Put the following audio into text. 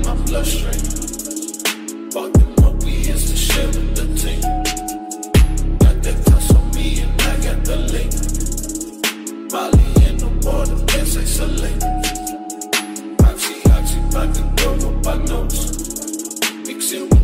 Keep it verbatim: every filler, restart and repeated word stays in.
my bloodstream. Fuck them up, we is to share with the team. Got that touch on me and I got the link. Molly in the water, dance like Celine. Oxy, oxy, back and go, no back notes. Mix it with